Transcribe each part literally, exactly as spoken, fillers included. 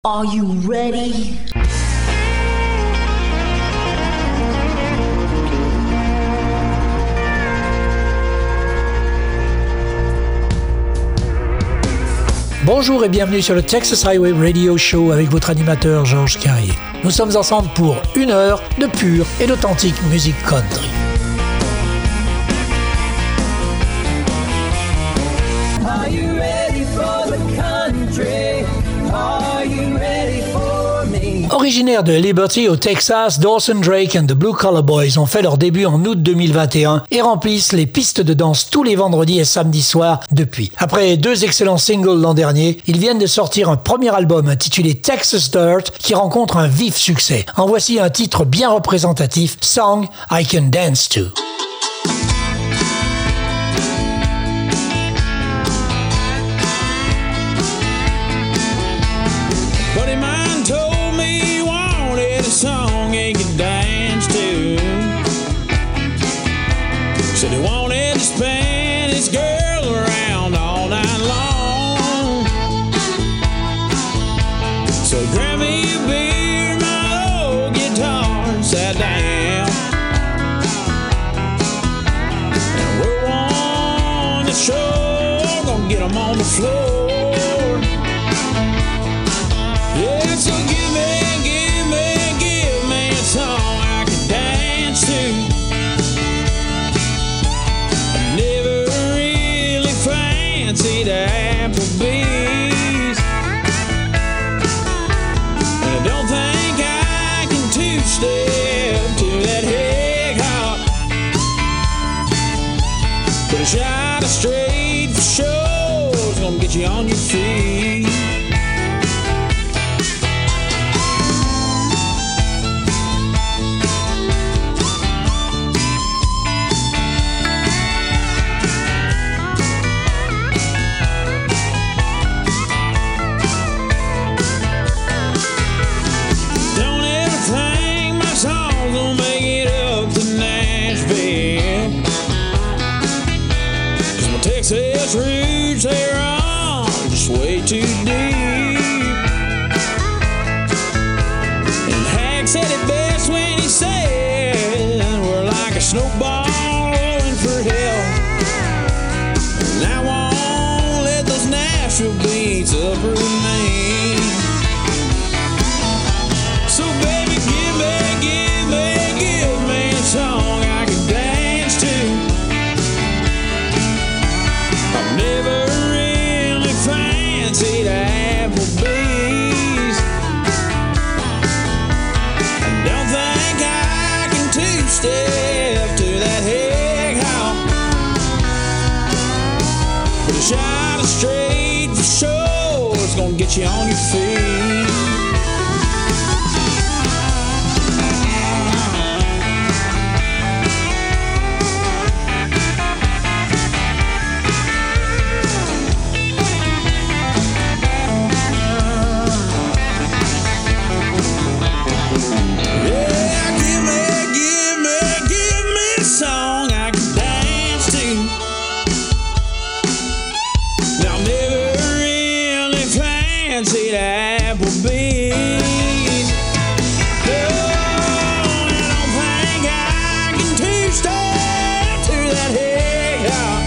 Are you ready? Bonjour et bienvenue sur le Texas Highway Radio Show avec votre animateur Georges Carrier. Nous sommes ensemble pour une heure de pure et d'authentique musique country. Are you ready for the country? Are you ready for me? Originaires de Liberty au Texas, Dawson Drake and the Blue Collar Boys ont fait leur début en août deux mille vingt et un et remplissent les pistes de danse tous les vendredis et samedis soirs depuis. Après deux excellents singles l'an dernier, ils viennent de sortir un premier album intitulé Texas Dirt qui rencontre un vif succès. En voici un titre bien représentatif, Song I Can Dance To. Song he could dance to. Said he wanted to spin his girl around all night long. So grab me a beer, my old guitar, and sat down and roll on the shore. Gonna get him on the floor. Yeah, so give me Applebee's, and I don't think I can two-step to that Hig Hop, but a shot of straight for sure is gonna get you on your feet. Texas roots, they're on just way too deep. And Hack said it best when he said we're like a snowball rolling for hell. And I won't let those Nashville beats uproot me. So baby, give me, give me, give me a song I can dance to. Never really fancied Applebee's. I don't think I can two-step to that Hig Hop, but a shot of straight for sure is gonna get you on your feet. Fancied Applebee's. Oh, I don't think I can two-step to that Hig Hop,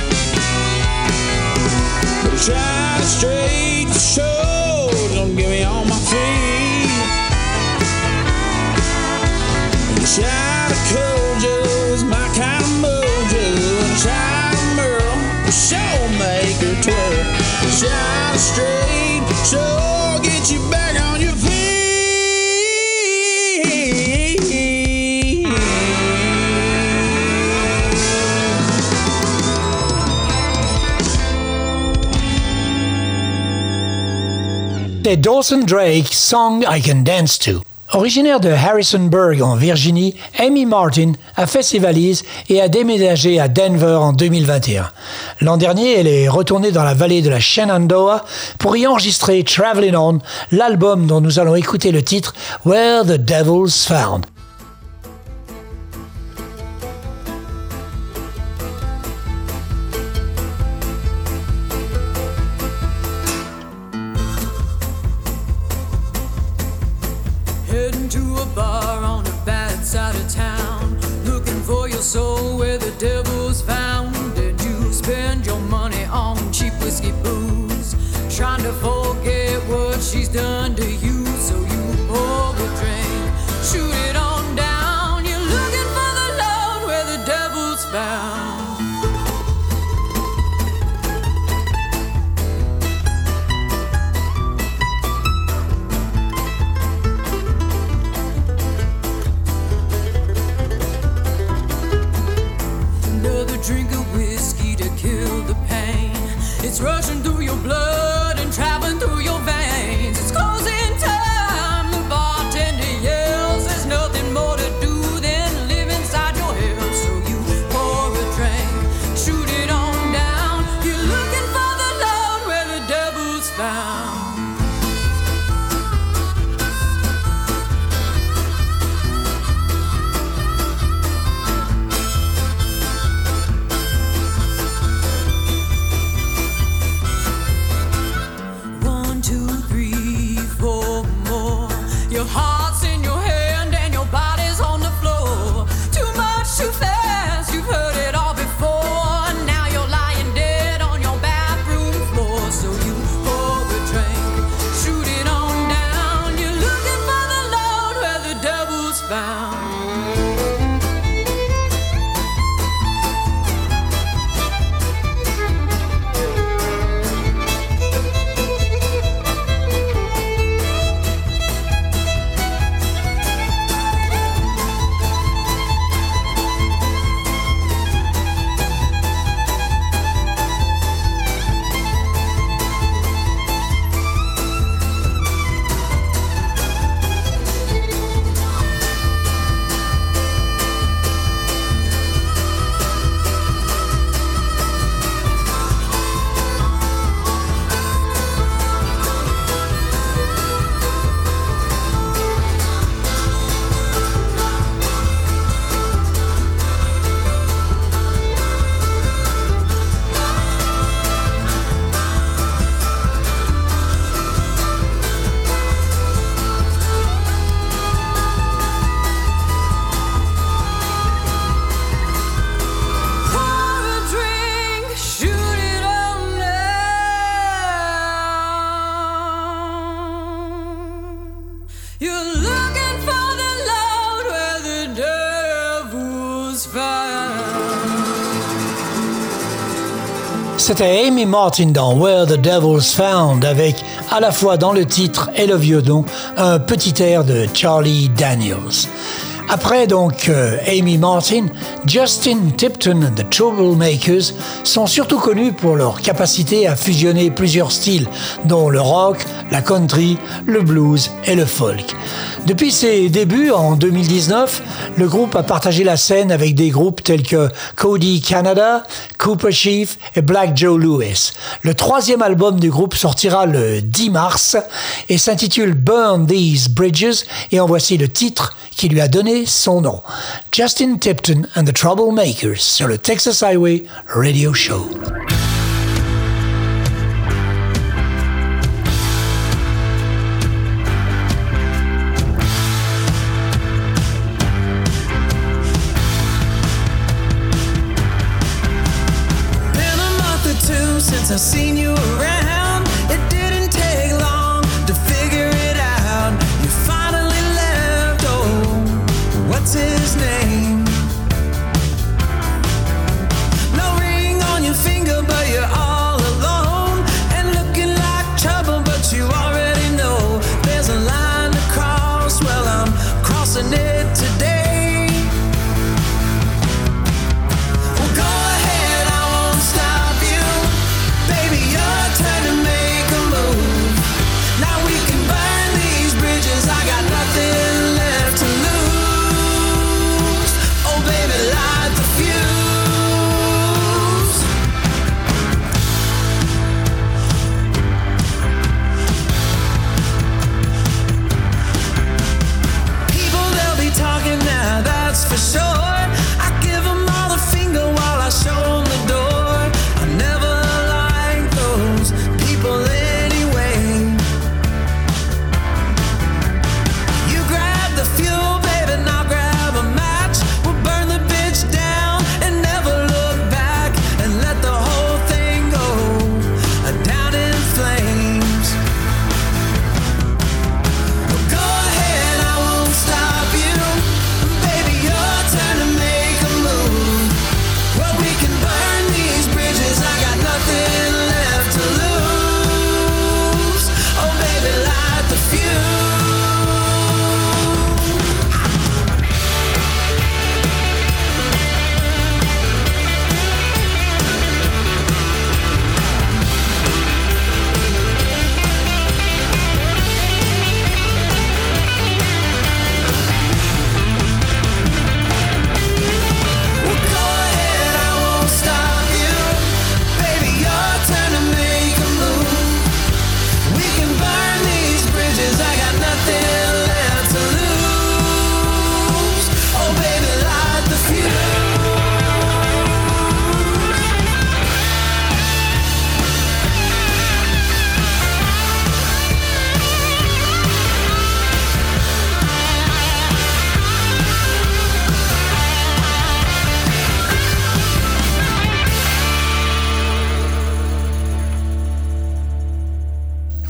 but a shot of straight for sure don't get me on my feet. And a shot of Kojo is my kind of mojo, and a shot of Merle will sure make her twirl. A shot of straight sure get you back on your feet. C'est Dawson Drake, Song I Can Dance To. Originaire de Harrisonburg en Virginie, Amy Martin a fait ses valises et a déménagé à Denver en deux mille vingt et un. L'an dernier, elle est retournée dans la vallée de la Shenandoah pour y enregistrer Travelin' On, l'album dont nous allons écouter le titre Where the Devil's Found. a bar on the bad side of town, looking for your soul where the devil's found, and you spend your money on cheap whiskey booze, trying to forget what she's done to you. So you pour a drink, shoot it on down. You're looking for the Lord where the devil's found. Drink of whiskey to kill the pain. It's rushing through your blood and traveling through your veins. It's closing time. The bartender yells. There's nothing more to do than live inside your head. So you pour a drink, shoot it on down. You're looking for the Lord where the devil's found. Your heart's in your hand and your body's on the floor. Too much, too fast, you've heard it all before. Now you're lying dead on your bathroom floor. So you pour a drink, shoot it on down. You're looking for the Lord where the devil's found. C'était Amy Martin dans Where the Devil's Found, avec à la fois dans le titre et le violon un petit air de Charlie Daniels. Après donc euh, Amy Martin, Justin Tipton and the Troublemakers sont surtout connus pour leur capacité à fusionner plusieurs styles, dont le rock, la country, le blues et le folk. Depuis ses débuts en deux mille dix-neuf, le groupe a partagé la scène avec des groupes tels que Cody Canada, Cooper Chief et Black Joe Lewis. Le troisième album du groupe sortira le dix mars et s'intitule Burn These Bridges, et en voici le titre qui lui a donné son nom. Justin Tipton and the Troublemakers sur le Texas Highway Radio Show. Since I've seen you around, it didn't take long to figure it out. You finally left, oh, what's his name? No ring on your finger, but you're all alone and looking like trouble, but you already know there's a line to cross. Well, I'm crossing it today. Well, go ahead, I won't stop you. Baby, your turn to make a move. Now we can burn these bridges. I got nothing left to lose. Oh, baby, light the fuse. People, they'll be talking now, that's for sure. I give them all the finger while I show them the door. I never liked those people anyway. You grab the fuel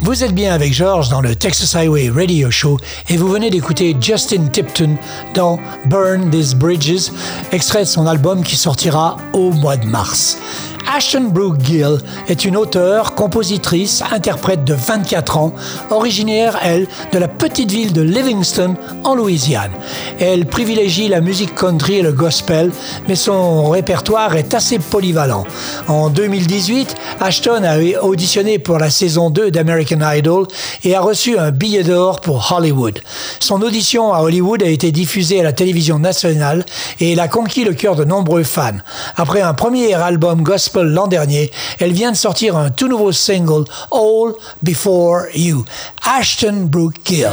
Vous êtes bien avec George dans le Texas Highway Radio Show et vous venez d'écouter Justin Tipton dans Burn These Bridges, extrait de son album qui sortira au mois de mars. Ashton Brooke Gill est une auteure, compositrice, interprète de vingt-quatre ans, originaire, elle, de la petite ville de Livingston, en Louisiane. Elle privilégie la musique country et le gospel, mais son répertoire est assez polyvalent. En deux mille dix-huit, Ashton a auditionné pour la saison deux d'American Idol et a reçu un billet d'or pour Hollywood. Son audition à Hollywood a été diffusée à la télévision nationale et elle a conquis le cœur de nombreux fans. Après un premier album gospel l'an dernier, elle vient de sortir un tout nouveau single, All Before You. Ashton Brooke Gill.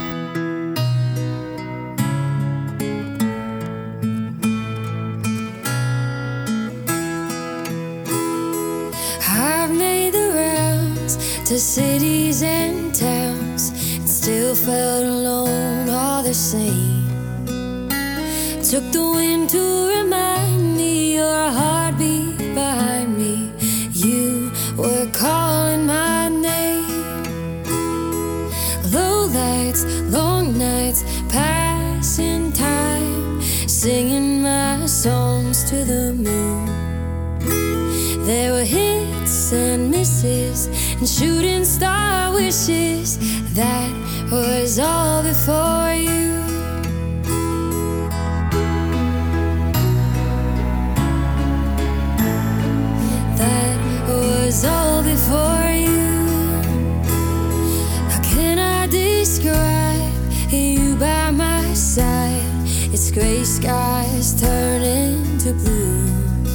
I've made the rounds to cities and towns and still felt alone all the same. Took the wind to remind me your heartbeat behind me. You were calling my name. Low lights, long nights, passing time, singing my songs to the moon. There were hits and misses and shooting star wishes. That was all before you. Was all before you. How can I describe you by my side? It's gray skies turning to blue.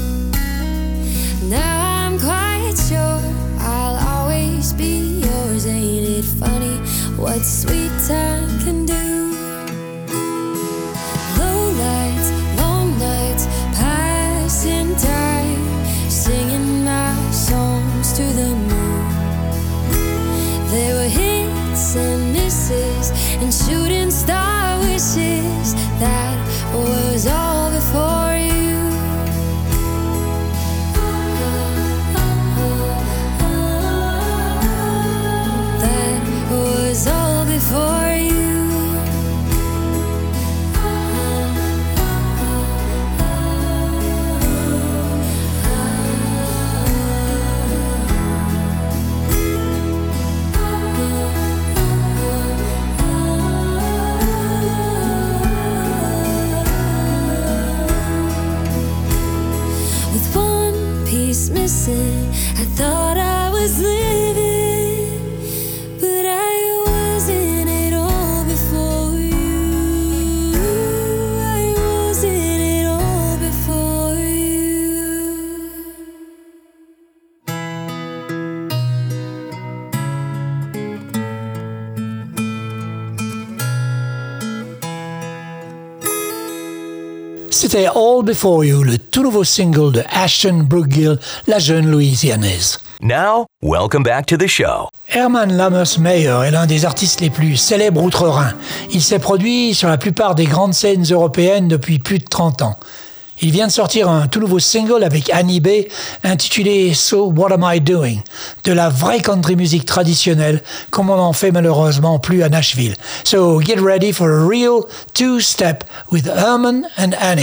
Now I'm quite sure I'll always be yours. Ain't it funny what sweet time can do? Low lights, long nights, passing time, singing my songs to the moon. There were hits and misses and shooting star wishes. That was all before you. That was all before you. Missing, I thought I was living, but I wasn't it all before you. I wasn't it all before you. C'était All Before You, le tout nouveau single de Ashton Brooke Gill, la jeune Louisianaise. Now, welcome back to the show. Herman Lammers Meyer est l'un des artistes les plus célèbres outre-Rhin. Il s'est produit sur la plupart des grandes scènes européennes depuis plus de trente ans. Il vient de sortir un tout nouveau single avec Annie B intitulé So What Am I Doing? De la vraie country music traditionnelle comme on en fait malheureusement plus à Nashville. So get ready for a real two-step with Herman and Annie.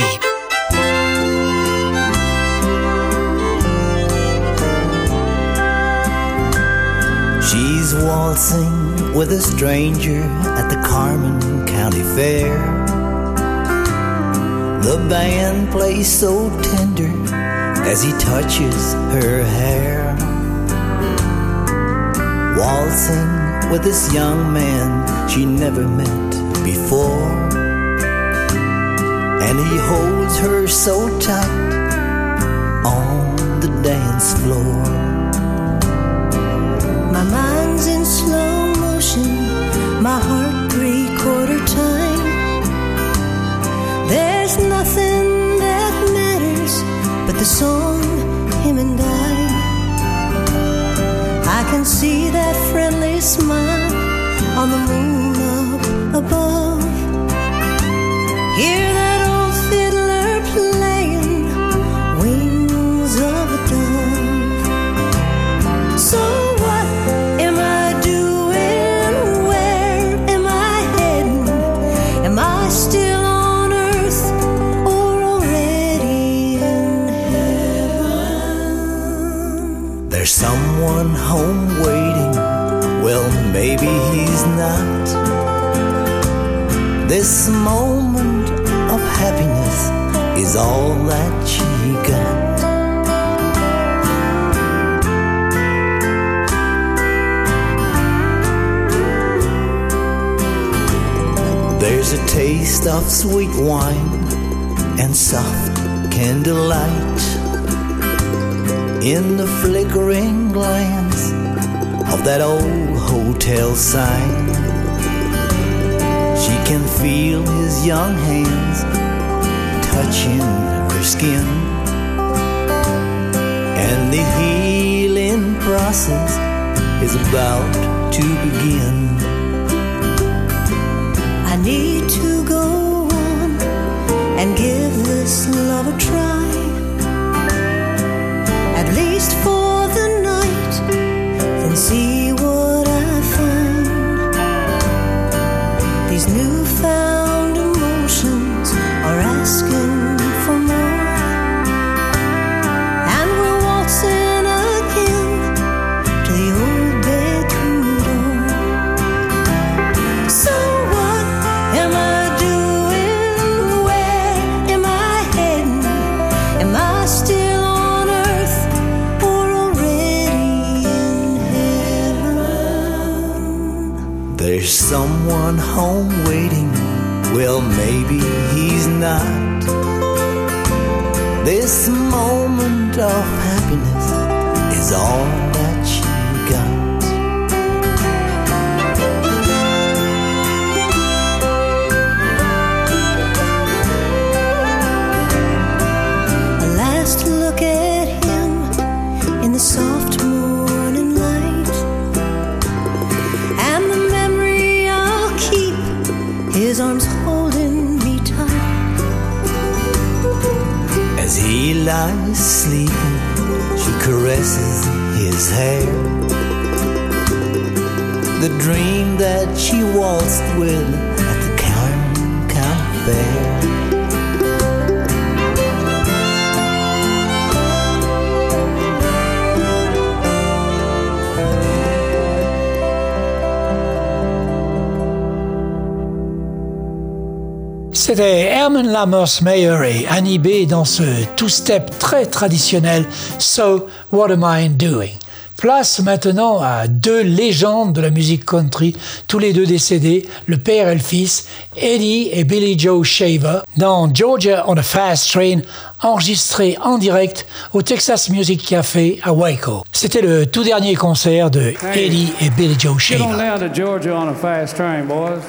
She's waltzing with a stranger at the Carmen County Fair. The band plays so tender as he touches her hair. Waltzing with this young man she never met before, and he holds her so tight on the dance floor. My mind's in slow motion, my heart three-quarter time. There's nothing that matters but the song, him and I. I can see that friendly smile on the moon up above. Hear that old fiddler playing Wings of a Dove. So what am I doing? This moment of happiness is all that she got. There's a taste of sweet wine and soft candlelight in the flickering glance of that old hotel sign. She can feel his young hands touching her skin, and the healing process is about to begin. I need to go on and give this love a try, at least for the night, then see what I find. These newfound emotions are asking for more, and we're waltzing again to the old bedroom door. So what am I doing? Where am I heading? Am I still on earth or already in heaven? There's someone home waiting, well maybe he's not. This moment of happiness is all that she got. A last look at him in the soft morning light, and the memory I'll keep, his arms holding me tight. As he lies sleeping, she caresses his hair. The dream that she waltzed with at the Cairn County Fair. C'était Herman Lammer's-Meyer et Annie B dans ce two-step très traditionnel So What Am I Doing? Place maintenant à deux légendes de la musique country, tous les deux décédés, le père et le fils, Eddie et Billy Joe Shaver, dans Georgia on a Fast Train, enregistré en direct au Texas Music Café à Waco. C'était le tout dernier concert de Eddie et Billy Joe Shaver. Get on down to Georgia on a fast train, boys.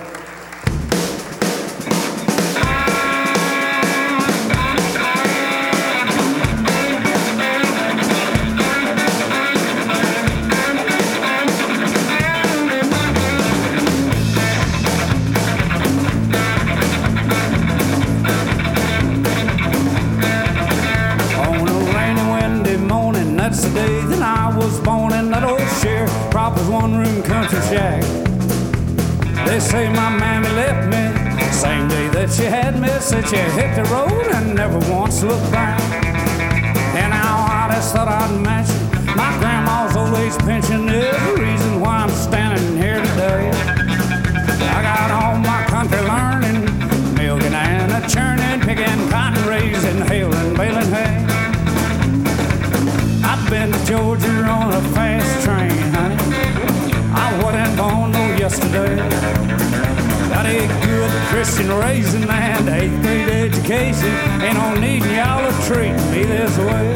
That's the day that I was born in that old sharecropper's one-room country shack. They say my mammy left me same day that she had me. Said she hit the road and never once looked back. And now I just thought I'd mention my grandma's old age pension is the reason why I'm standing here today. I got all my country learning, milking and a churning, picking cotton, raising, hailing, baling hay. I've been to Georgia on a fast train, honey. I wasn't born no yesterday. Got a good Christian raising and eighth grade education. Ain't no need y'all to treat me this way.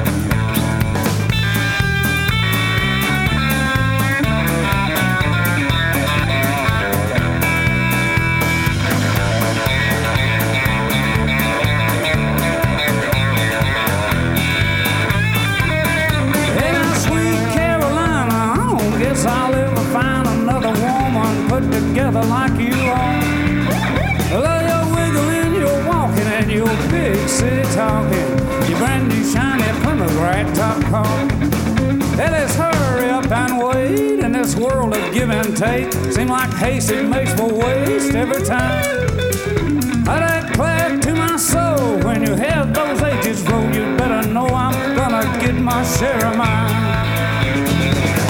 I'll ever find another woman put together like you are. Love your wiggling, your walking, and your big city talking. Your brand new shiny Plymouth top car. Hey, let's hurry up and wait in this world of give and take. Seem like haste it makes for waste every time. I declare to my soul, when you have those ages roll, you better know I'm gonna get my share of mine.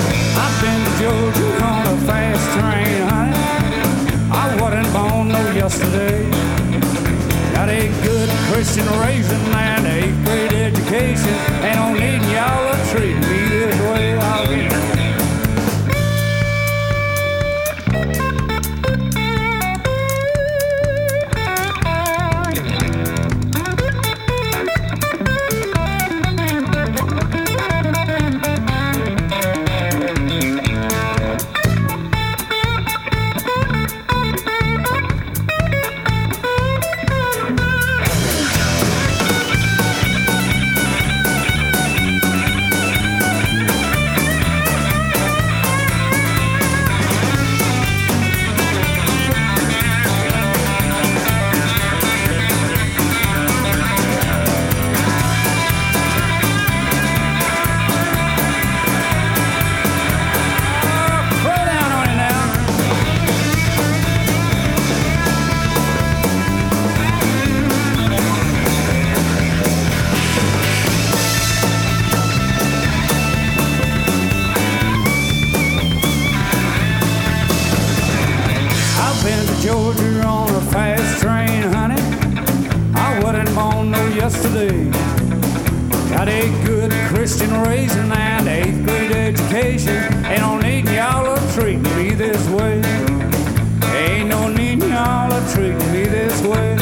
I've been to Georgia on a fast train, honey. I wasn't born no yesterday. yesterday. Got a good Christian raising and eighth grade education. Ain't no need y'all to treat me this way. I'll get it. Georgia on a fast train, honey. I wasn't born no yesterday. Got a good Christian raising and eighth grade education. Ain't no need y'all to treat me this way. Ain't no need y'all to treat me this way.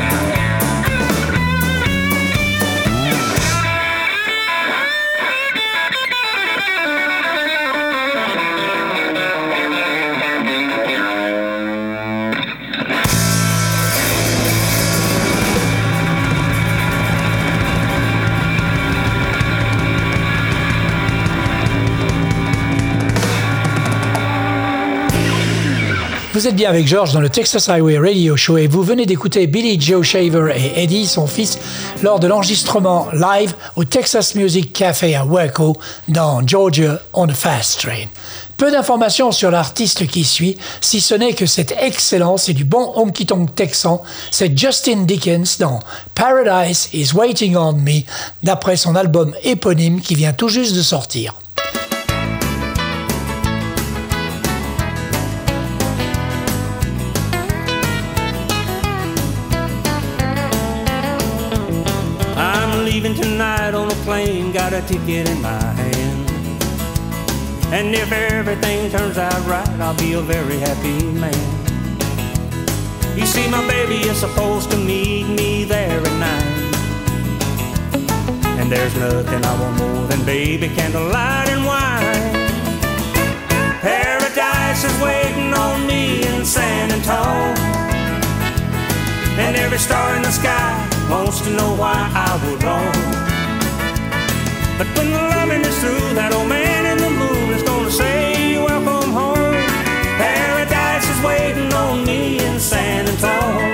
Vous êtes bien avec George dans le Texas Highway Radio Show et vous venez d'écouter Billy Joe Shaver et Eddie, son fils, lors de l'enregistrement live au Texas Music Café à Waco dans Georgia on a Fast Train. Peu d'informations sur l'artiste qui suit, si ce n'est que c'est excellent, c'est du bon honky-tonk texan, c'est Justin Dickens dans Paradise is Waiting on Me, d'après son album éponyme qui vient tout juste de sortir. Leaving tonight on a plane, got a ticket in my hand. And if everything turns out right, I'll be a very happy man. You see, my baby is supposed to meet me there at night. And there's nothing I want more than baby candlelight and wine. Paradise is waiting on me in San Antonio. And every star in the sky wants to know why I would roam. But when the loving is through, that old man in the moon is gonna say, welcome home. Paradise is waiting on me in San Antonio.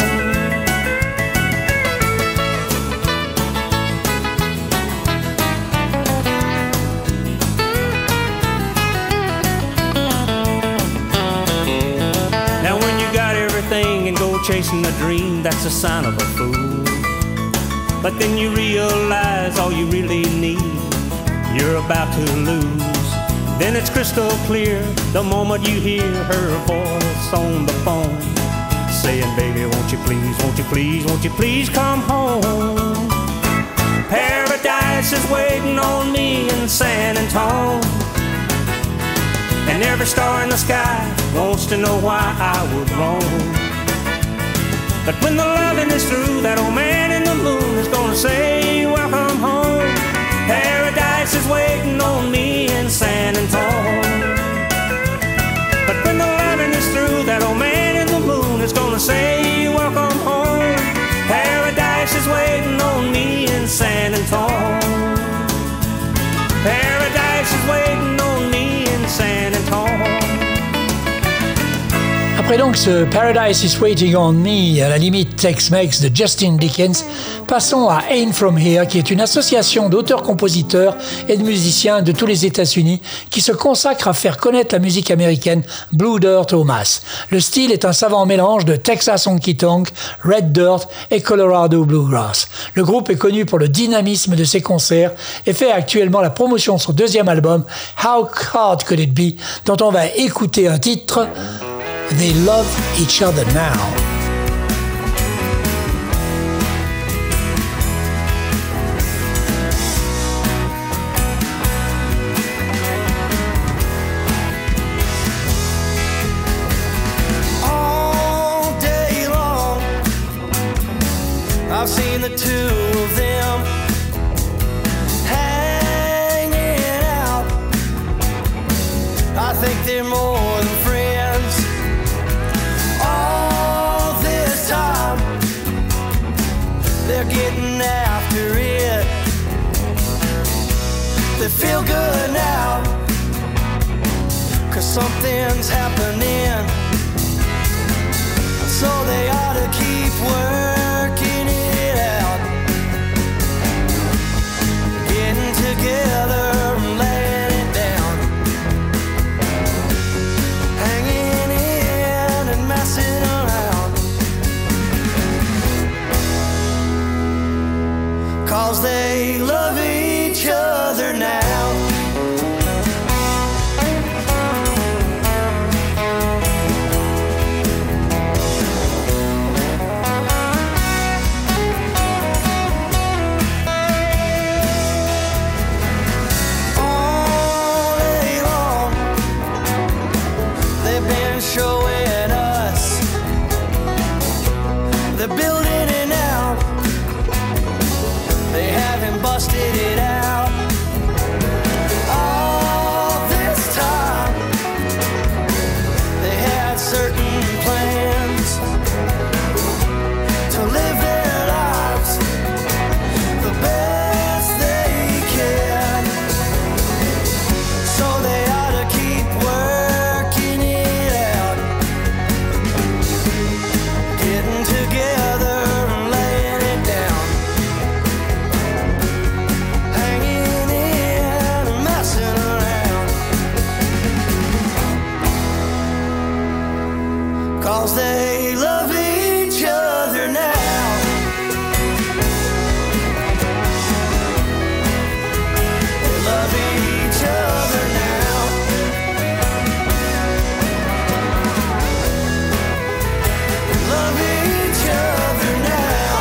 Now when you got everything and go chasing a dream, that's a sign of a fool. But then you realize all you really need, you're about to lose. Then it's crystal clear the moment you hear her voice on the phone, saying, baby, won't you please, won't you please, won't you please come home. Paradise is waiting on me in San Antonio. And every star in the sky wants to know why I would roam. But when the loving is through, that old man in the moon is gonna say, welcome home. Paradise is waiting on me in San Antonio. But when the loving is through, that old man in the moon is gonna say, welcome home. Paradise is waiting on me in San Antonio. Paradise is waiting on me in San Antonio. Après donc ce Paradise is Waiting on Me, à la limite Tex-Mex de Justin Dickens, passons à Ain't From Here, qui est une association d'auteurs-compositeurs et de musiciens de tous les États-Unis qui se consacre à faire connaître la musique américaine Blue Dirt aux masses. Le style est un savant mélange de Texas Honky Tonk, Red Dirt et Colorado Bluegrass. Le groupe est connu pour le dynamisme de ses concerts et fait actuellement la promotion de son deuxième album How Hard Could It Be, dont on va écouter un titre, They Love Each Other Now. seen the two of them hanging out. I think they're more than friends. All this time they're getting after it. They feel good now, 'cause something's happening. So they ought to keep working it out, getting together and laying it down, hanging in and messing around. 'Cause they love each other now. Showing us the building it now. They haven't busted it out. All this time they had certain plans to live their lives the best they can. So they ought to keep working it out, getting together and laying it down, hanging in and messing around. 'Cause they love each other now. They love each other now. Love each other now.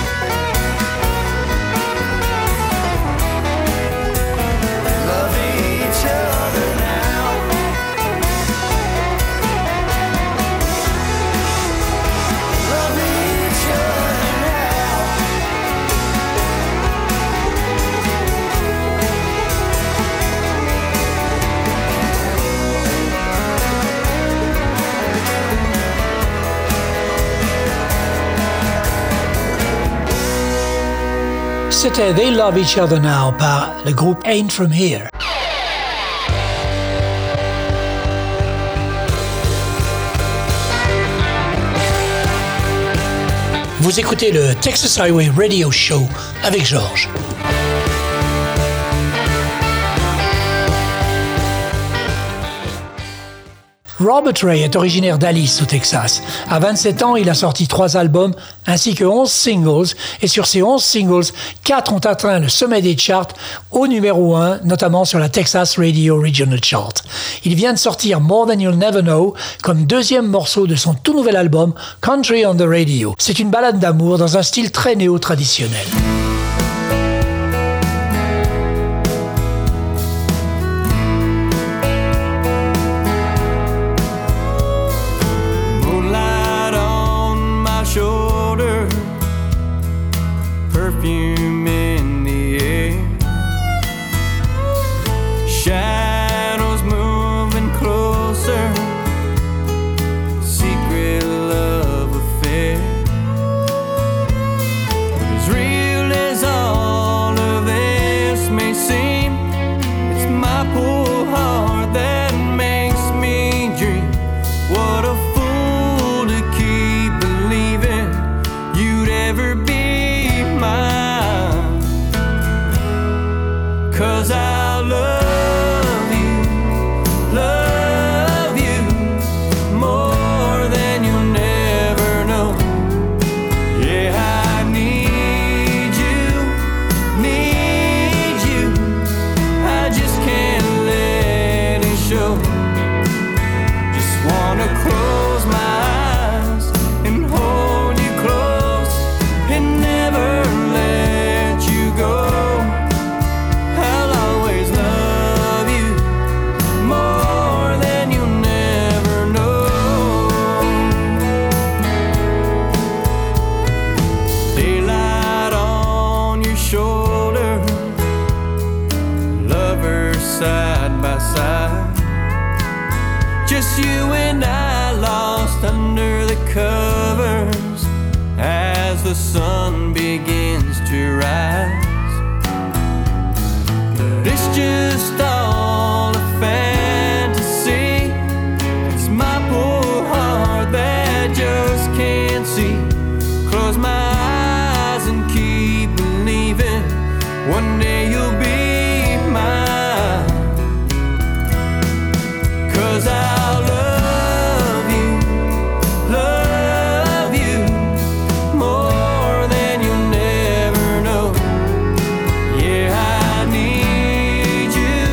Love each other now. Love each other now. C'était They Love Each Other Now par le groupe Ain't From Here. Vous écoutez le Texas Highway Radio Show avec Georges. Robert Ray est originaire d'Alice, au Texas. À vingt-sept ans, il a sorti trois albums ainsi que onze singles. Et sur ces onze singles, quatre ont atteint le sommet des charts au numéro un, notamment sur la Texas Radio Regional Chart. Il vient de sortir More Than You'll Never Know comme deuxième morceau de son tout nouvel album Country on the Radio. C'est une ballade d'amour dans un style très néo-traditionnel. Shoulder, perfume in the air, shadows moving closer, secret love affair, as real as It's you and I lost under the covers as the sun begins to rise. But it's just all a fantasy. It's my poor heart that just can't see. Close my eyes and keep believing one day you'll be mine. 'Cause I'll love you, love you more than you'll never know. Yeah, I need you,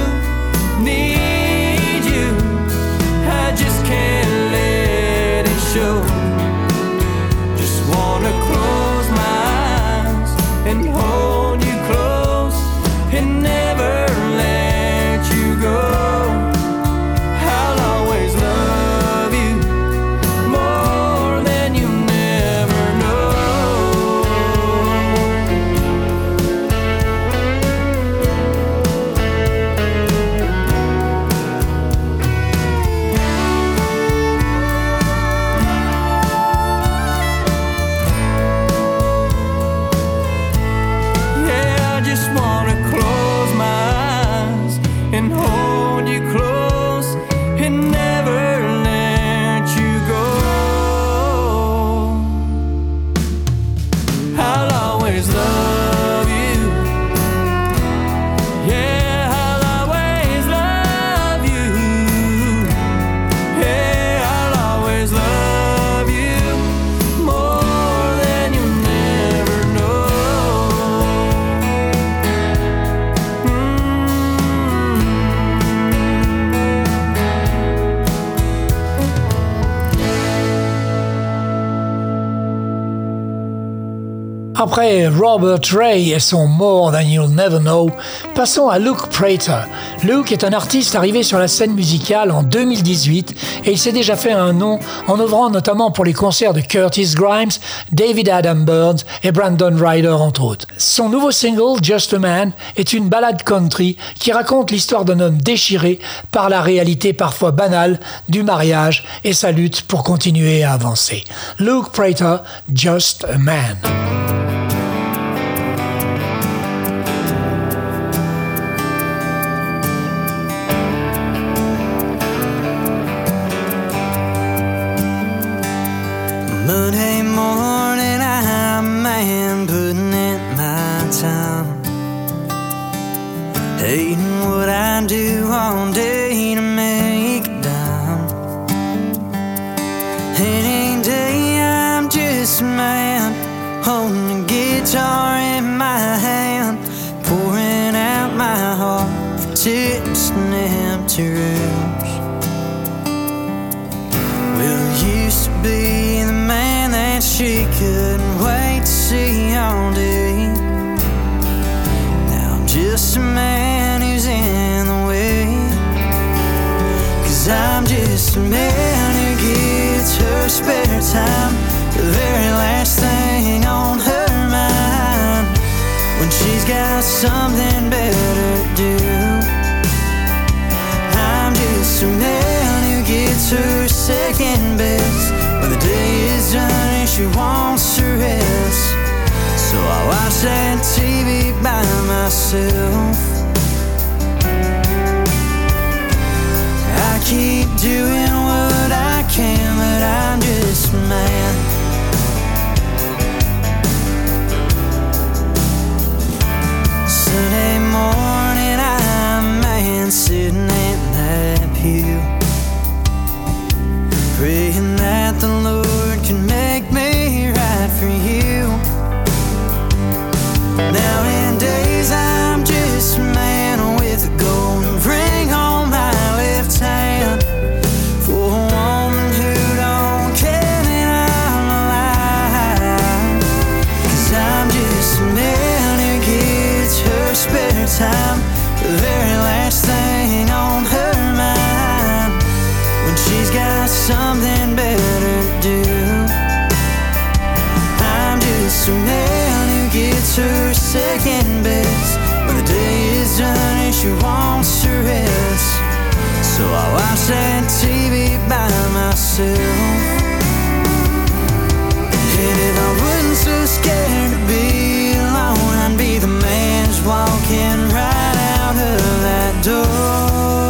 need you. I just can't let it show. Just wanna close my eyes and hold you close and never let you go. I'll always love you more than you never know. Yeah, I just wanna close my eyes and hold you close and never let you go. I'll always love you. Yeah, I'll always love you. Yeah, I'll always love you more than you never know. Après Robert Ray et son More Than You'll Never Know, passons à Luke Prater. Luke est un artiste arrivé sur la scène musicale en deux mille dix-huit et il s'est déjà fait un nom en œuvrant notamment pour les concerts de Curtis Grimes, David Adam Burns et Brandon Ryder entre autres. Son nouveau single, Just a Man, est une ballade country qui raconte l'histoire d'un homme déchiré par la réalité parfois banale du mariage et sa lutte pour continuer à avancer. Luke Prater, Just a Man. Monday morning, I'm a man putting in my time, hating what I do all day to make a dime. Any day I'm just a man, holding a guitar in my hand, pouring out my heart for tips and empty rooms. Well, I used to be the man that she couldn't wait to see all day. Now I'm just a man who's in the way, 'cause I'm just a man who gives her spare time the very last thing on her mind, when she's got something better to do. I'm just a man who gets her second best when the day is done and she wants to rest. So I watch that T V by myself. I keep doing what I can, but I'm just a man. Sunday morning, I'm a man sitting in that pew, praying that the Lord can make me right for you. Now in days I'm just a man with a golden ring on my left hand, for a woman who don't care that I'm alive. 'Cause I'm just a man who gets her spare time, the very last thing on her mind, when she's got something better to do. I'm just a man who gets her second best when the day is done and she wants to rest. So I watch that T V by myself. And if I wasn't so scared to be alone, I'd be the man just walking right out of that door.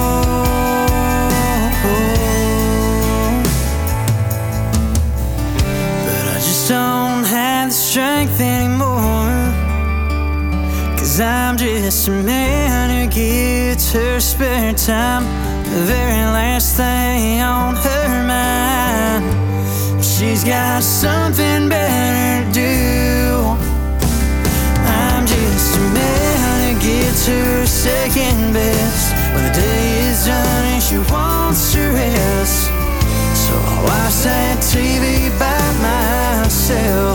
But I just don't have the strength anymore, 'cause I'm just a man who gets her spare time, the very last thing on her mind. She's got something better to do. I'm just a man who gets her second best when the day is done and she wants to rest. So I watch that T V by myself.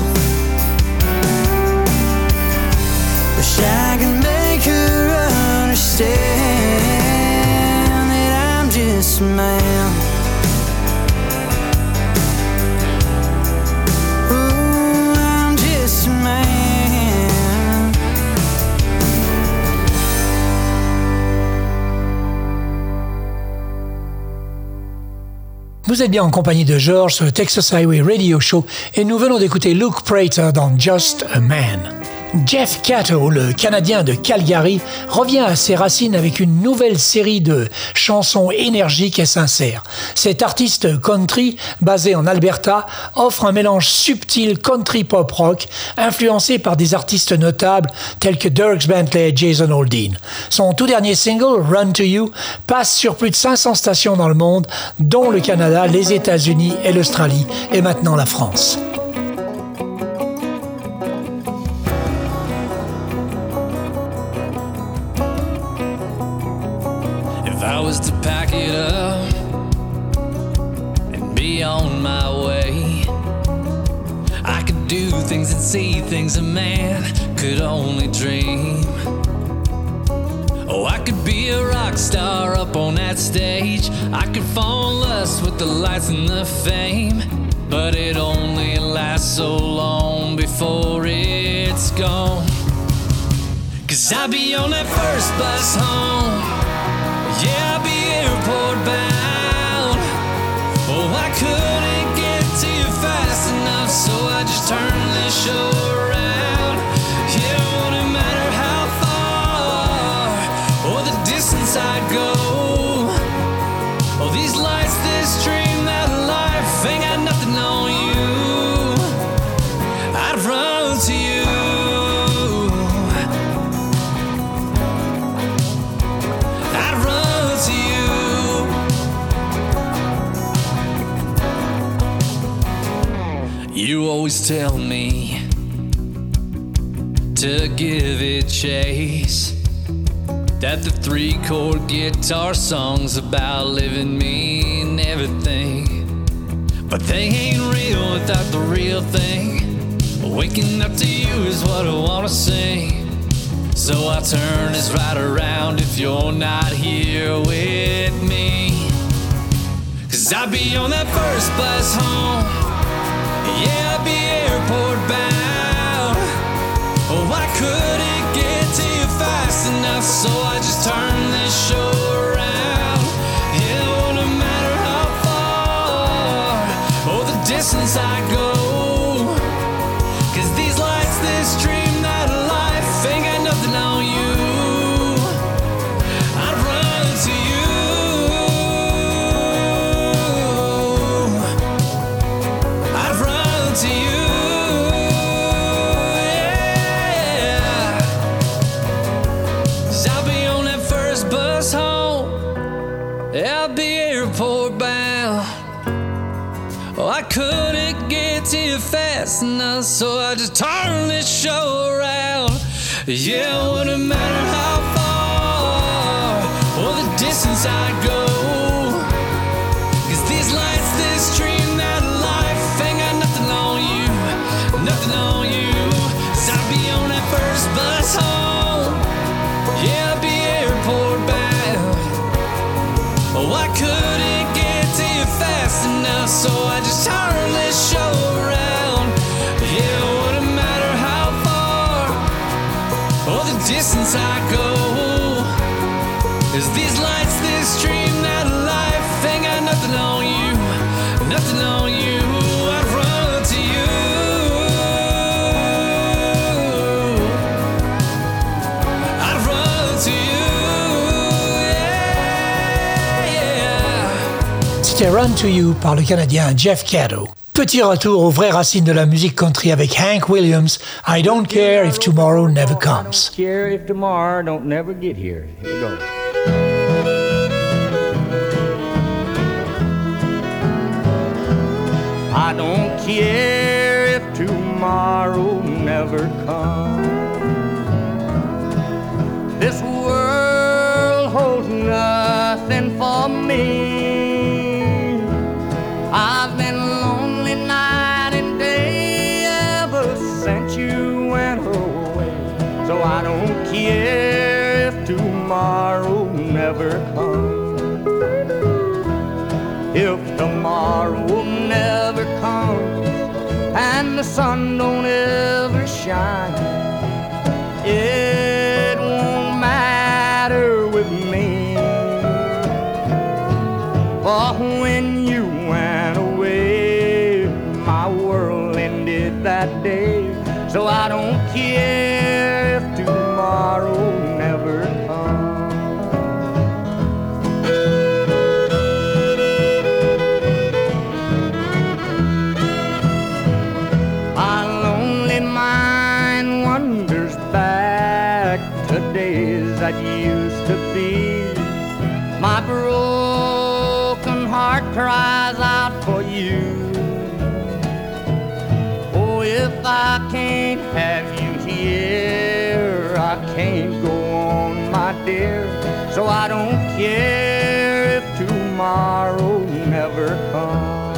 Wish I could make her understand that I'm just a man. Ooh, I'm just a man. Vous êtes bien en compagnie de George sur le Texas Highway Radio Show et nous venons d'écouter Luke Prater dans Just a Man. Jeff Cato, le Canadien de Calgary, revient à ses racines avec une nouvelle série de chansons énergiques et sincères. Cet artiste country, basé en Alberta, offre un mélange subtil country pop rock, influencé par des artistes notables tels que Dierks Bentley et Jason Aldean. Son tout dernier single, Run to You, passe sur plus de cinq cents stations dans le monde, dont le Canada, les États-Unis et l'Australie, et maintenant la France. I was to pack it up and be on my way, I could do things and see things a man could only dream. Oh, I could be a rock star up on that stage, I could fall in lust with the lights and the fame, but it only lasts so long before it's gone. 'Cause I'll be on that first bus home, yeah, I'll be airport bound. Oh, I couldn't get to you fast enough, so I just turned this show around. Yeah, it wouldn't matter how far or the distance I go. Oh, these lights, this dream, that life ain't got nothing on you. I'd run to you. You always tell me to give it chase, that the three-chord guitar song's about living me and everything, but they ain't real without the real thing. Waking up to you is what I wanna sing, so I'll turn this right around if you're not here with me. 'Cause I'll be on that first bus home, yeah, I'll be airport bound. Oh, I couldn't get to you fast enough, so I just turned this show around. Yeah, it wouldn't matter how far or the distance I go, 'cause these lights, this dream, that life ain't got nothing on you. I'd run to you. I'd run to you. Yeah. 'Cause I'll be on that first bus home, I'll be airport bound. Oh, I couldn't get to you fast enough, so I just turned this show around. Yeah, it wouldn't matter how far or the distance I go, 'cause these lights, this dream, that life ain't got nothing on you, nothing on you. 'Cause I'll be on that first bus home, yeah, I'll be airport bound. Oh, I couldn't get to you fast enough, so I just turned this show around. Yeah, it wouldn't matter how far or the distance I go, 'cause these lights, this dream, that C'était Run to You par le Canadien Jeff Caddo. Petit retour aux vraies racines de la musique country avec Hank Williams, I Don't Care If Tomorrow Never Comes. I don't care if tomorrow don't never get here. Here we go. I don't care if tomorrow never comes. This world holds nothing for me. I've been lonely night and day ever since you went away. So I don't care if tomorrow never comes. If tomorrow never comes and the sun don't ever shine, it won't matter with me. For when you went away, my world ended that day. So I don't care if tomorrow never comes. My lonely mind wanders back to days that used to be. My broken heart cries out for you. Oh, if I can't have you here, I can't go on, my dear. So I don't care if tomorrow never comes.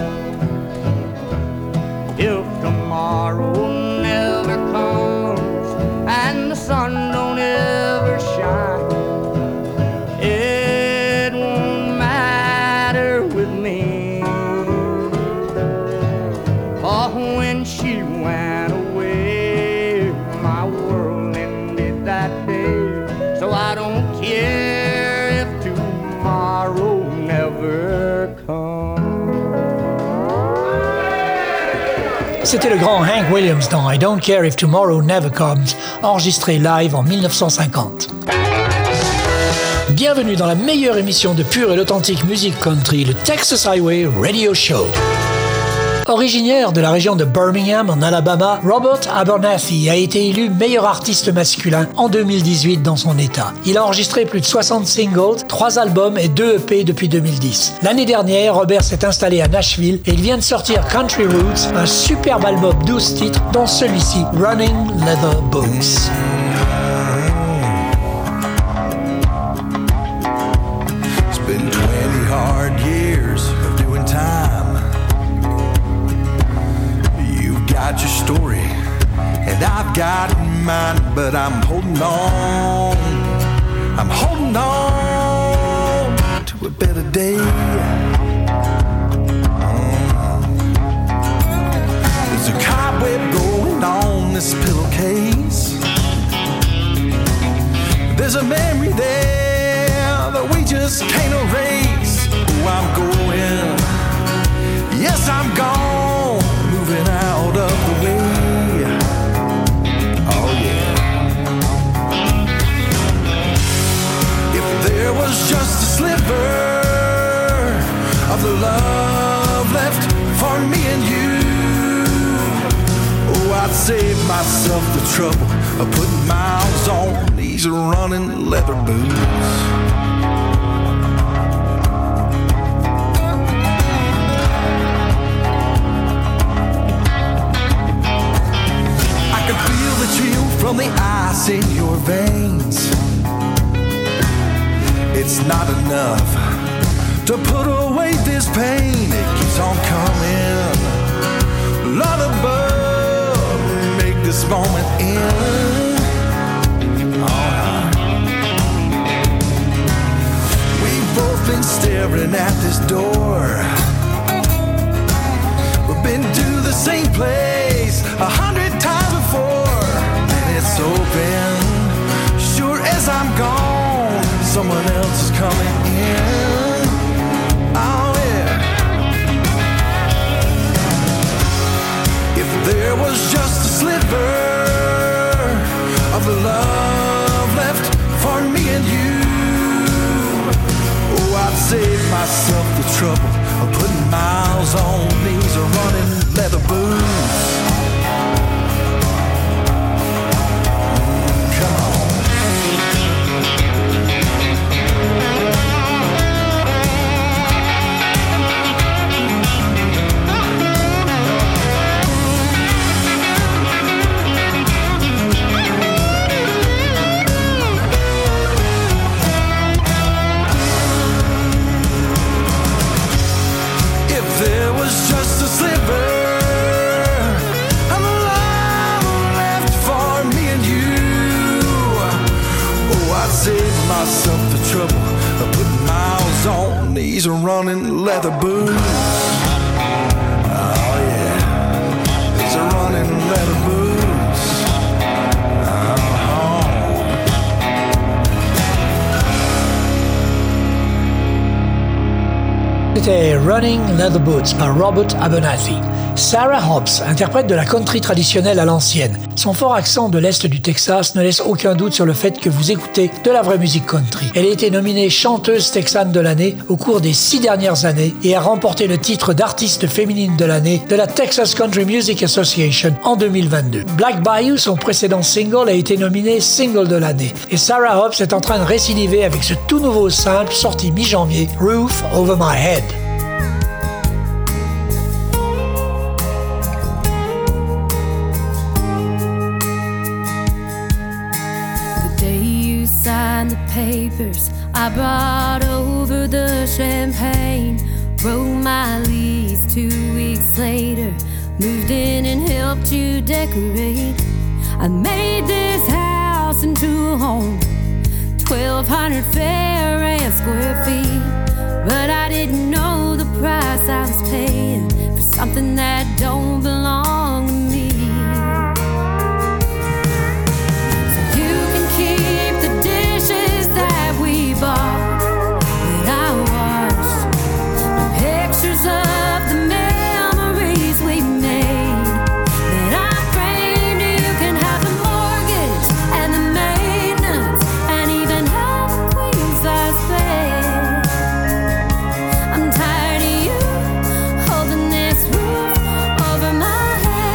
If tomorrow never comes and the sun don't ever shine, it won't matter with me. For when she went away, my world ended that day. So I don't care if tomorrow never comes. C'était le grand Hank Williams dans I Don't Care If Tomorrow Never Comes, enregistré live en dix-neuf cent cinquante. Bienvenue dans la meilleure émission de pure et d'authentique musique country, le Texas Highway Radio Show. Originaire de la région de Birmingham, en Alabama, Robert Abernathy a été élu meilleur artiste masculin en deux mille dix-huit dans son état. Il a enregistré plus de soixante singles, trois albums et deux E P depuis deux mille dix. L'année dernière, Robert s'est installé à Nashville et il vient de sortir Country Roots, un superbe album douze titres, dont celui-ci, Running Leather Boots. It's been twenty hard years of doing time. Got your story, and I've got mine, but I'm holding on. I'm holding on to a better day. Mm. There's a cobweb going on this pillowcase. There's a memory there that we just can't erase. Oh, I'm going. Yes, I'm gone. Moving out of the way. Oh yeah. If there was just a sliver of the love left for me and you, oh, I'd save myself the trouble of putting miles on these running leather boots. Chill from the ice in your veins. It's not enough to put away this pain. It keeps on coming. Lord above, make this moment end. Oh, we've both been staring at this door. We've been to the same place a hundred times before. It's open. Sure as I'm gone, someone else is coming in. Oh yeah. If there was just a sliver of the love left for me and you, oh, I'd save myself the trouble putting miles on these running leather boots. Come on. There was just a sliver of love left for me and you. Oh, I'd save myself the trouble of putting miles on these running leather boots. Oh yeah, these are running leather boots. Oh. C'était Running Leather Boots par Robert Abernathy. Sarah Hobbs, interprète de la country traditionnelle à l'ancienne. Son fort accent de l'Est du Texas ne laisse aucun doute sur le fait que vous écoutez de la vraie musique country. Elle a été nominée chanteuse texane de l'année au cours des six dernières années et a remporté le titre d'artiste féminine de l'année de la Texas Country Music Association en deux mille vingt-deux. Black Bayou, son précédent single, a été nominé single de l'année. Et Sarah Hobbs est en train de récidiver avec ce tout nouveau simple sorti mi-janvier, Roof Over My Head. Signed the papers, I brought over the champagne, wrote my lease two weeks later, moved in and helped you decorate. I made this house into a home, twelve hundred fair and square feet, but I didn't know the price I was paying for something that don't belong to me. Bought, that I washed, the pictures of the memories we made, that I framed. You can have the mortgage and the maintenance, and even have a queen size bed. I'm tired of you holding this roof over my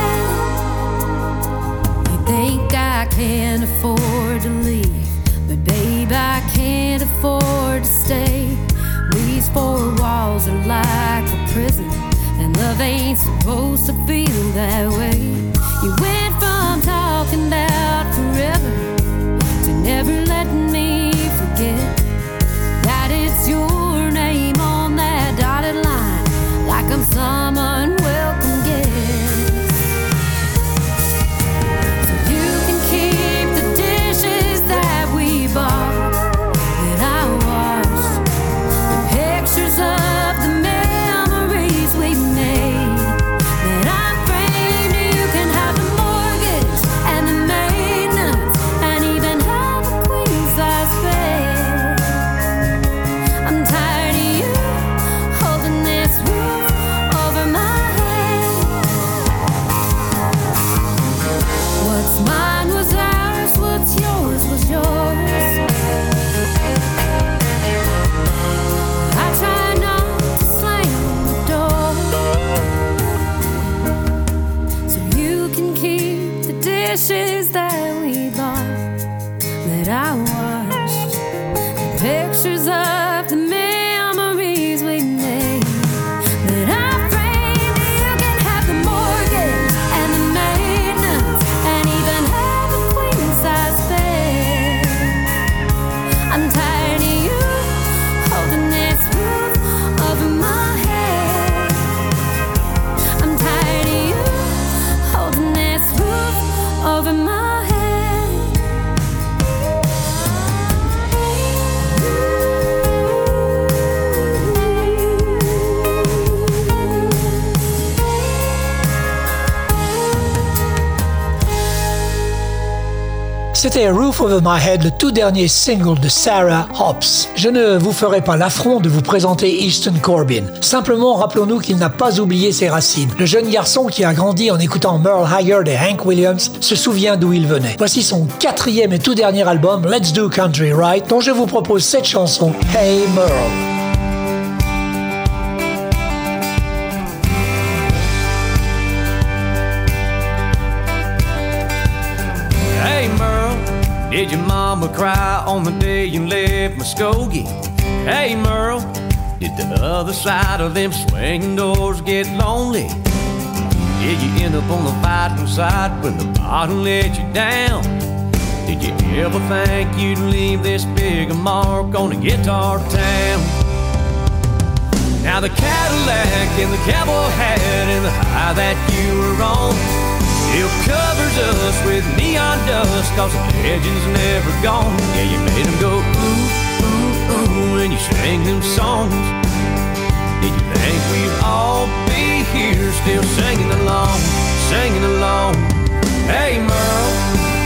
head. You think I can't afford to leave, but babe, I can't afford to stay. These four walls are like a prison, and love ain't supposed to feel that way. You went from talking about forever to never letting me forget that it's your name on that dotted line, like I'm some unwelcome guest. So you can keep the dishes that we bought, of the memories we made, that I framed. You can have the mortgage and the maintenance, and even have a queen size bed. I'm tired of you holding this roof over my head. What's mine was ours, what's yours was yours. Dishes that we bought, that I washed, the pictures of the memories we made, that I framed. You can have the mortgage and the maintenance, and even have a queen size bed. I'm tired of you holding this roof over my head. I'm tired of you holding this roof over my head. C'était Roof Over My Head, le tout dernier single de Sarah Hobbs. Je ne vous ferai pas l'affront de vous présenter Easton Corbin. Simplement, rappelons-nous qu'il n'a pas oublié ses racines. Le jeune garçon qui a grandi en écoutant Merle Haggard et Hank Williams se souvient d'où il venait. Voici son quatrième et tout dernier album, Let's Do Country Right, dont je vous propose cette chanson, Hey Merle. Did your mama cry on the day you left Muskogee? Hey Merle, did the other side of them swinging doors get lonely? Did you end up on the fighting side when the bottom let you down? Did you ever think you'd leave this big a mark on a guitar town? Now the Cadillac and the cowboy hat and the high that you were on still covers us with neon dust, cause the legend's never gone. Yeah, you made them go ooh, ooh, ooh when you sang them songs. Did you think we'd all be here still singing along, singing along? Hey Merle,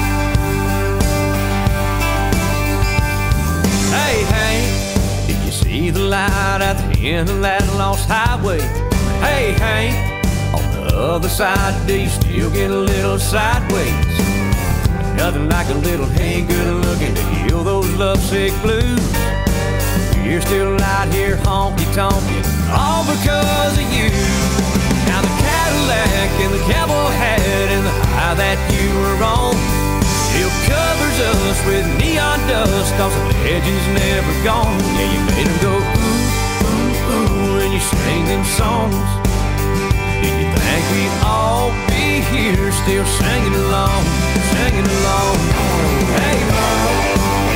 hey, hey, did you see the light at the end of that lost highway? Hey, hey, on the other side, do you still get a little sideways? Nothing like a little hey good looking to heal those lovesick blues. You're still out here honky-tonkin', all because of you. Now the Cadillac and the cowboy hat and the high that you were on still covers us with neon dust, cause the legend's never gone. Yeah, you made them go ooh, ooh, ooh when you sang them songs. Did you think we'd all be here still singing along, singing along? Hey, Merle.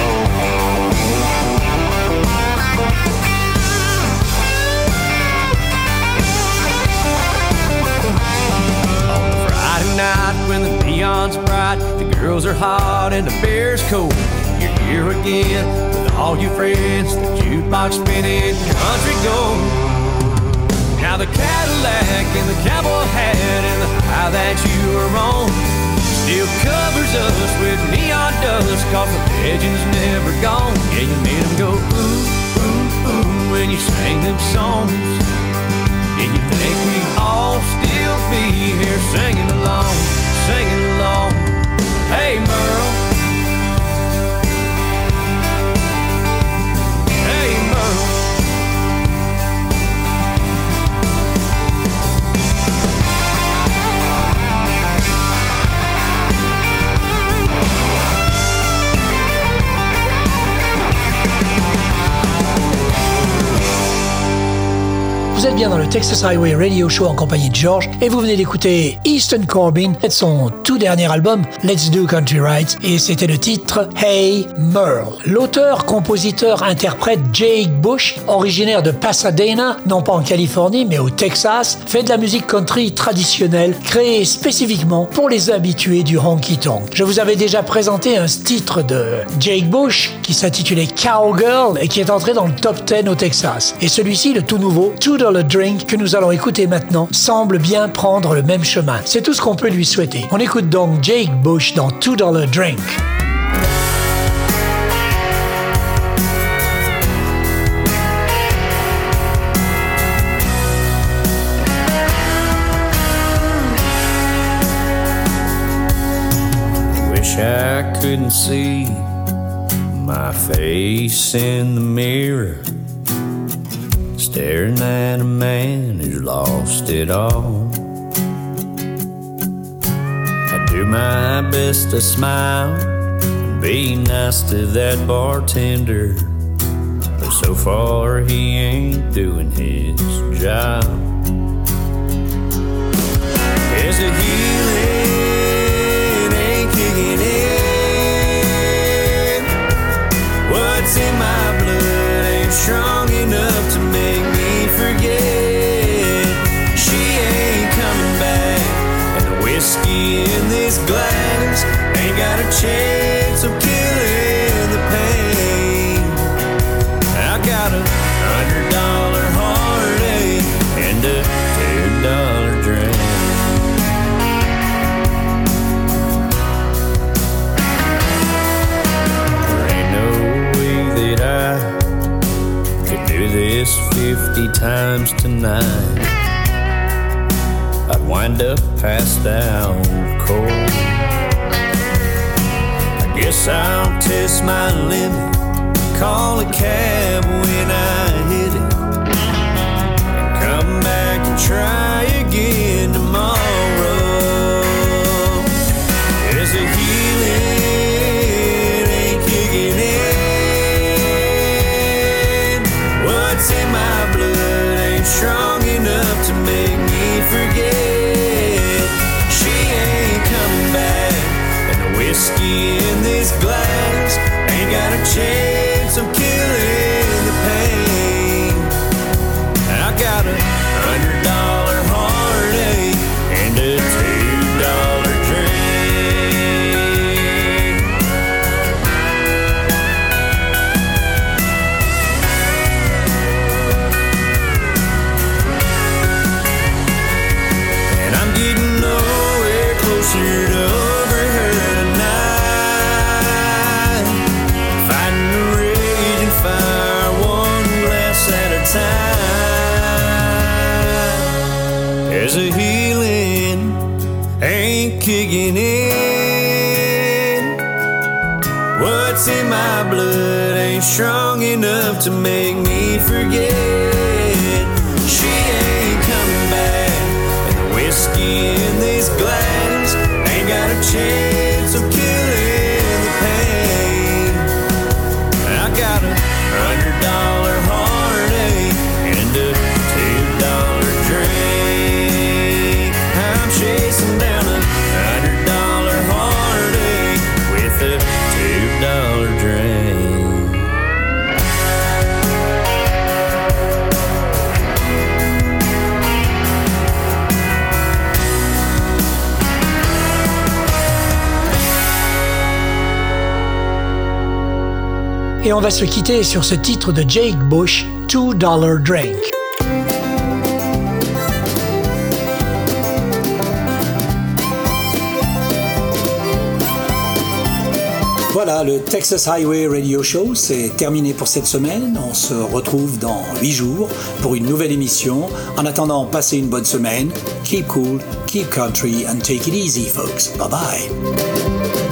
On a Friday night when the neon's bright, the girls are hot and the beer's cold, you're here again with all your friends, the jukebox spinning country gold. Now the Cadillac and the cowboy hat and the high that you were on still covers us with neon dust, cause the legend's never gone. Yeah, you made them go ooh, ooh, ooh when you sang them songs. Did you think we'd all still be here singing along, singing along? Hey Merle, hey Merle. Vous êtes bien dans le Texas Highway Radio Show en compagnie de George et vous venez d'écouter Easton Corbin de son tout dernier album Let's Do Country Right et c'était le titre Hey Merle. L'auteur, compositeur, interprète Jake Bush, originaire de Pasadena, non pas en Californie mais au Texas, fait de la musique country traditionnelle créée spécifiquement pour les habitués du honky-tonk. Je vous avais déjà présenté un titre de Jake Bush qui s'intitulait Cowgirl et qui est entré dans le top dix au Texas. Et celui-ci, le tout nouveau Two Dollar Drink que nous allons écouter maintenant semble bien prendre le même chemin. C'est tout ce qu'on peut lui souhaiter. On écoute donc Jake Bush dans Two Dollar Drink. Wish I couldn't see my face in the mirror, staring at a man who's lost it all. I do my best to smile and be nice to that bartender, but so far he ain't doing his job. There's a healing ain't kicking in. What's in my blood ain't strong enough to make me forget. She ain't coming back, and the whiskey in this glass ain't got a chance of killing the pain. I got a hundred dollar heartache and a two dollar drink. There ain't no way that I could do this fifty times tonight. I'd wind up passed out cold. I guess I'll test my limit, call a cab when I hit it, and come back and try again tomorrow. There's a healing glass. Ain't got a chance of killing the pain. I got a hundred dollar heartache and a two dollar drink. And I'm getting nowhere closer to over her tonight, fighting the raging fire one glass at a time. As the healing ain't kicking in, what's in my blood ain't strong enough to make me forget. She ain't coming back, and the whiskey in this glass ain't got a chance of killing the pain. I got a hundred dollar heartache and a two dollar drink. I'm chasing down a hundred dollar heartache with a two dollar drink. Et on va se quitter sur ce titre de Jake Bush, two dollar Drink. Voilà, le Texas Highway Radio Show, c'est terminé pour cette semaine. On se retrouve dans huit jours pour une nouvelle émission. En attendant, passez une bonne semaine. Keep cool, keep country, and take it easy, folks. Bye bye.